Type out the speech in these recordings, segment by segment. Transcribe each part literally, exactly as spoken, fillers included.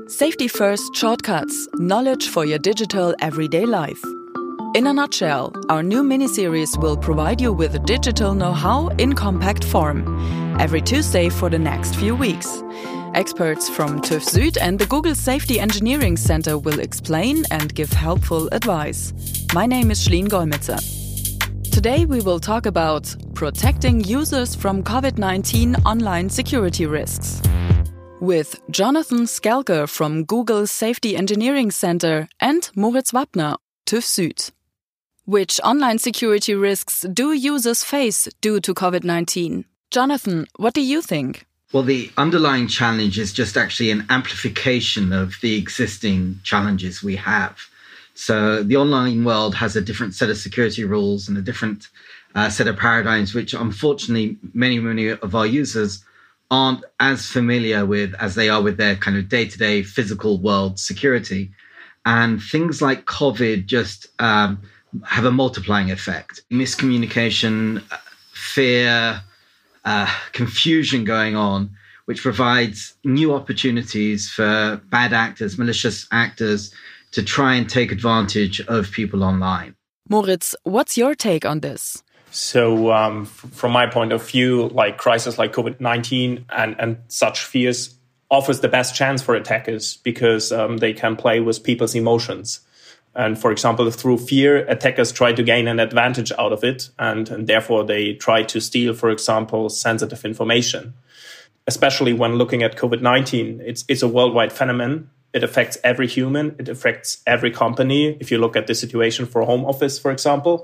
Safety First Shortcuts – Knowledge for your digital everyday life. In a nutshell, our new mini-series will provide you with digital know-how in compact form. Every Tuesday for the next few weeks. Experts from TÜV Süd and the Google Safety Engineering Center will explain and give helpful advice. My name is Schleen Golmitzer. Today we will talk about protecting users from COVID nineteen online security risks. With Jonathan Skelker from Google Safety Engineering Center and Moritz Wappner, TÜV Süd. Which online security risks do users face due to COVID nineteen? Jonathan, what do you think? Well, the underlying challenge is just actually an amplification of the existing challenges we have. So the online world has a different set of security rules and a different uh, set of paradigms, which unfortunately many, many of our users aren't as familiar with as they are with their kind of day-to-day physical world security. And things like COVID just um, have a multiplying effect. Miscommunication, fear, uh, confusion going on, which provides new opportunities for bad actors, malicious actors, to try and take advantage of people online. Moritz, what's your take on this? So um, f- from my point of view, like crisis like COVID nineteen and, and such fears offers the best chance for attackers because um, they can play with people's emotions. And for example, through fear, attackers try to gain an advantage out of it. And, and therefore, they try to steal, for example, sensitive information. Especially when looking at COVID nineteen, it's, it's a worldwide phenomenon. It affects every human. It affects every company. If you look at the situation for home office, for example.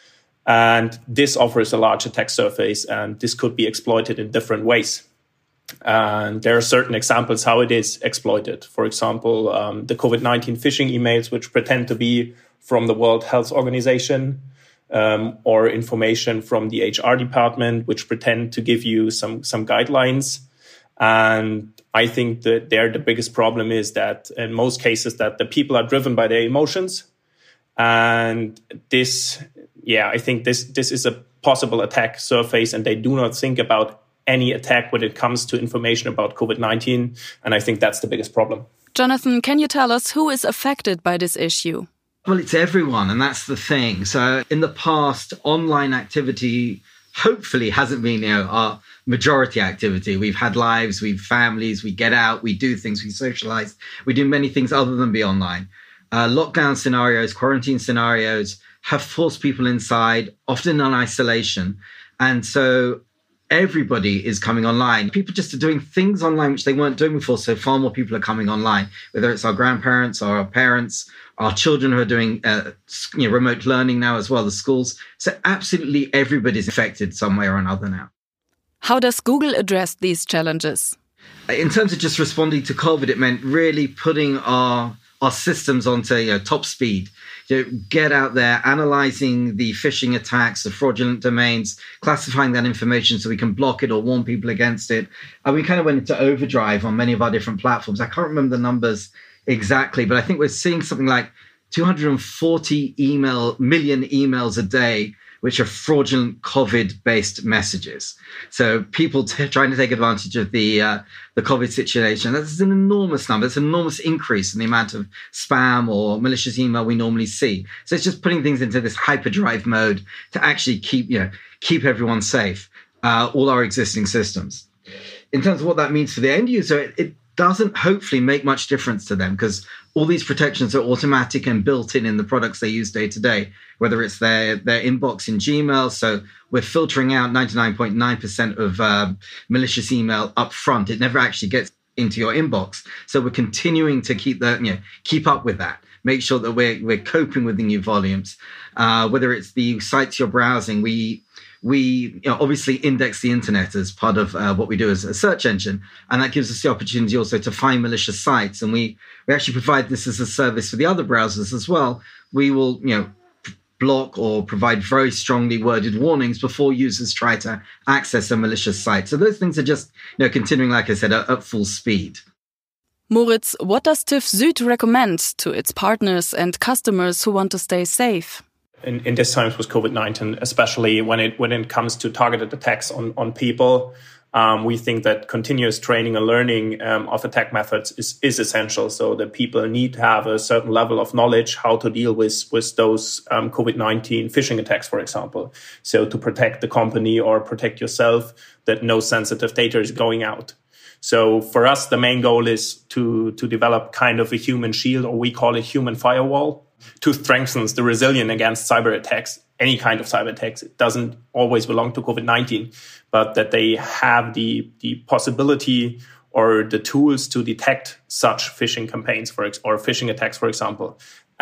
And this offers a large attack surface, and this could be exploited in different ways. And there are certain examples how it is exploited. For example, um, the COVID nineteen phishing emails, which pretend to be from the World Health Organization, um, or information from the H R department, which pretend to give you some, some guidelines. And I think that there the biggest problem is that in most cases that the people are driven by their emotions. And this, yeah, I think this this is a possible attack surface, and they do not think about any attack when it comes to information about COVID nineteen. And I think that's the biggest problem. Jonathan, can you tell us who is affected by this issue? Well, it's everyone, and that's the thing. So in the past, online activity hopefully hasn't been, you know, our majority activity. We've had lives, we've families, we get out, we do things, we socialize, we do many things other than be online. Uh, lockdown scenarios, quarantine scenarios have forced people inside, often in isolation. And so everybody is coming online. People just are doing things online which they weren't doing before. So far more people are coming online, whether it's our grandparents or our parents, our children who are doing uh, you know, remote learning now as well, the schools. So absolutely everybody's affected some way or another now. How does Google address these challenges? In terms of just responding to COVID, it meant really putting our our systems onto you know, top speed. You know, get out there, analyzing the phishing attacks, the fraudulent domains, classifying that information so we can block it or warn people against it. And we kind of went into overdrive on many of our different platforms. I can't remember the numbers exactly, but I think we're seeing something like two hundred forty email million emails a day, which are fraudulent COVID-based messages. So people t- trying to take advantage of the uh, the COVID situation. That's an enormous number. It's an enormous increase in the amount of spam or malicious email we normally see. So it's just putting things into this hyperdrive mode to actually keep, you know, keep everyone safe, uh, all our existing systems. In terms of what that means for the end user, it, it doesn't hopefully make much difference to them because all these protections are automatic and built in in the products they use day to day, whether it's their, their inbox in Gmail. So we're filtering out ninety-nine point nine percent of uh, malicious email up front. It never actually gets into your inbox. So we're continuing to keep the, you know, keep up with that. Make sure that we're, we're coping with the new volumes. Uh, whether it's the sites you're browsing, we We you know, obviously index the internet as part of uh, what we do as a search engine. And that gives us the opportunity also to find malicious sites. And we, we actually provide this as a service for the other browsers as well. We will, you know, block or provide very strongly worded warnings before users try to access a malicious site. So those things are just, you know, continuing, like I said, at, at full speed. Moritz, what does TÜV Süd recommend to its partners and customers who want to stay safe? In, in this times with COVID nineteen, especially when it when it comes to targeted attacks on, on people, Um, we think that continuous training and learning um, of attack methods is, is essential. So that people need to have a certain level of knowledge how to deal with, with those um, COVID nineteen phishing attacks, for example. So to protect the company or protect yourself, that no sensitive data is going out. So for us, the main goal is to, to develop kind of a human shield, or we call it human firewall, to strengthen the resilience against cyber attacks, any kind of cyber attacks. It doesn't always belong to COVID nineteen, but that they have the, the possibility or the tools to detect such phishing campaigns for ex- or phishing attacks, for example.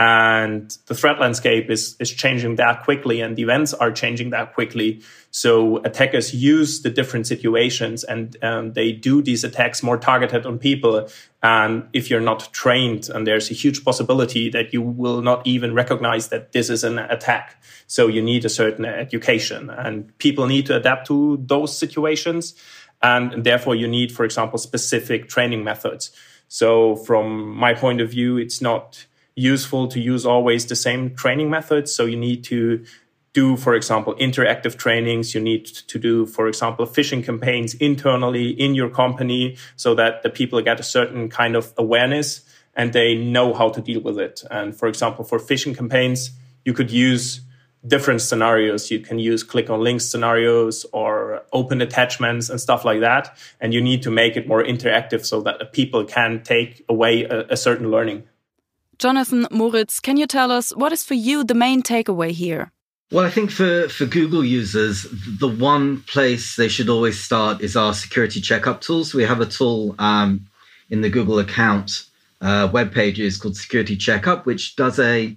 And the threat landscape is, is changing that quickly, and the events are changing that quickly. So attackers use the different situations, and um, they do these attacks more targeted on people. And if you're not trained, and there's a huge possibility that you will not even recognize that this is an attack. So you need a certain education, and people need to adapt to those situations. And therefore you need, for example, specific training methods. So from my point of view, it's not useful to use always the same training methods. So you need to do, for example, interactive trainings. You need to do, for example, phishing campaigns internally in your company so that the people get a certain kind of awareness and they know how to deal with it. And for example, for phishing campaigns, you could use different scenarios. You can use click on links scenarios or open attachments and stuff like that. And you need to make it more interactive so that the people can take away a, a certain learning. Jonathan, Moritz, can you tell us what is for you the main takeaway here? Well, I think for, for Google users, the one place they should always start is our security checkup tools. We have a tool um, in the Google account uh, web pages called Security Checkup, which does a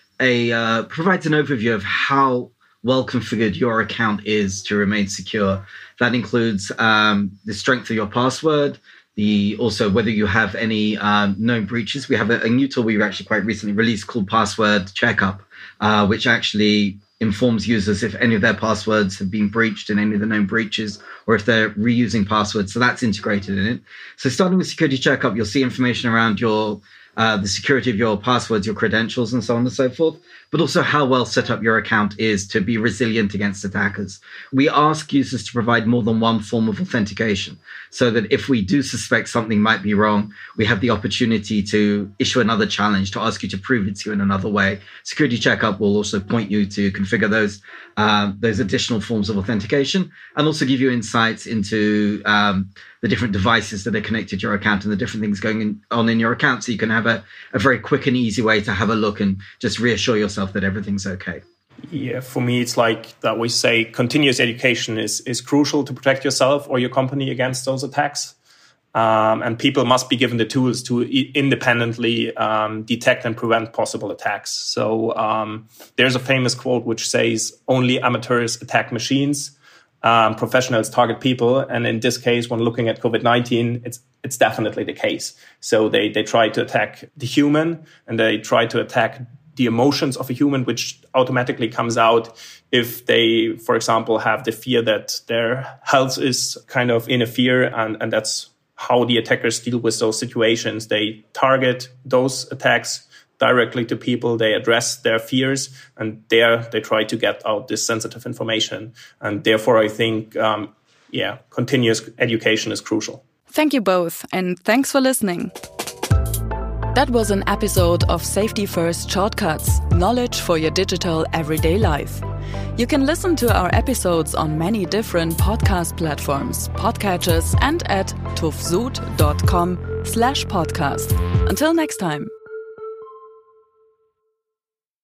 a uh, provides an overview of how well configured your account is to remain secure. That includes um, the strength of your password, the also whether you have any um, known breaches. We have a, a new tool we actually quite recently released called Password Checkup, uh, which actually informs users if any of their passwords have been breached in any of the known breaches, or if they're reusing passwords. So that's integrated in it. So starting with Security Checkup, you'll see information around your uh, the security of your passwords, your credentials, and so on and so forth, but also how well set up your account is to be resilient against attackers. We ask users to provide more than one form of authentication so that if we do suspect something might be wrong, we have the opportunity to issue another challenge to ask you to prove it to you in another way. Security Checkup will also point you to configure those uh, those additional forms of authentication and also give you insights into um, the different devices that are connected to your account and the different things going in, on in your account, so you can have a, a very quick and easy way to have a look and just reassure yourself that everything's okay. Yeah, for me, it's like that we say continuous education is, is crucial to protect yourself or your company against those attacks. Um, and people must be given the tools to I- independently um, detect and prevent possible attacks. So um, there's a famous quote which says, only amateurs attack machines. Um, professionals target people. And in this case, when looking at COVID nineteen, it's it's definitely the case. So they, they try to attack the human, and they try to attack the emotions of a human, which automatically comes out if they, for example, have the fear that their health is kind of in a fear. And, and that's how the attackers deal with those situations. They target those attacks directly to people. They address their fears, and there they try to get out this sensitive information. And therefore, I think, um, yeah, continuous education is crucial. Thank you both, and thanks for listening. That was an episode of Safety First Shortcuts, knowledge for your digital everyday life. You can listen to our episodes on many different podcast platforms, podcatchers, and at tufsud dot com slash podcast. Until next time.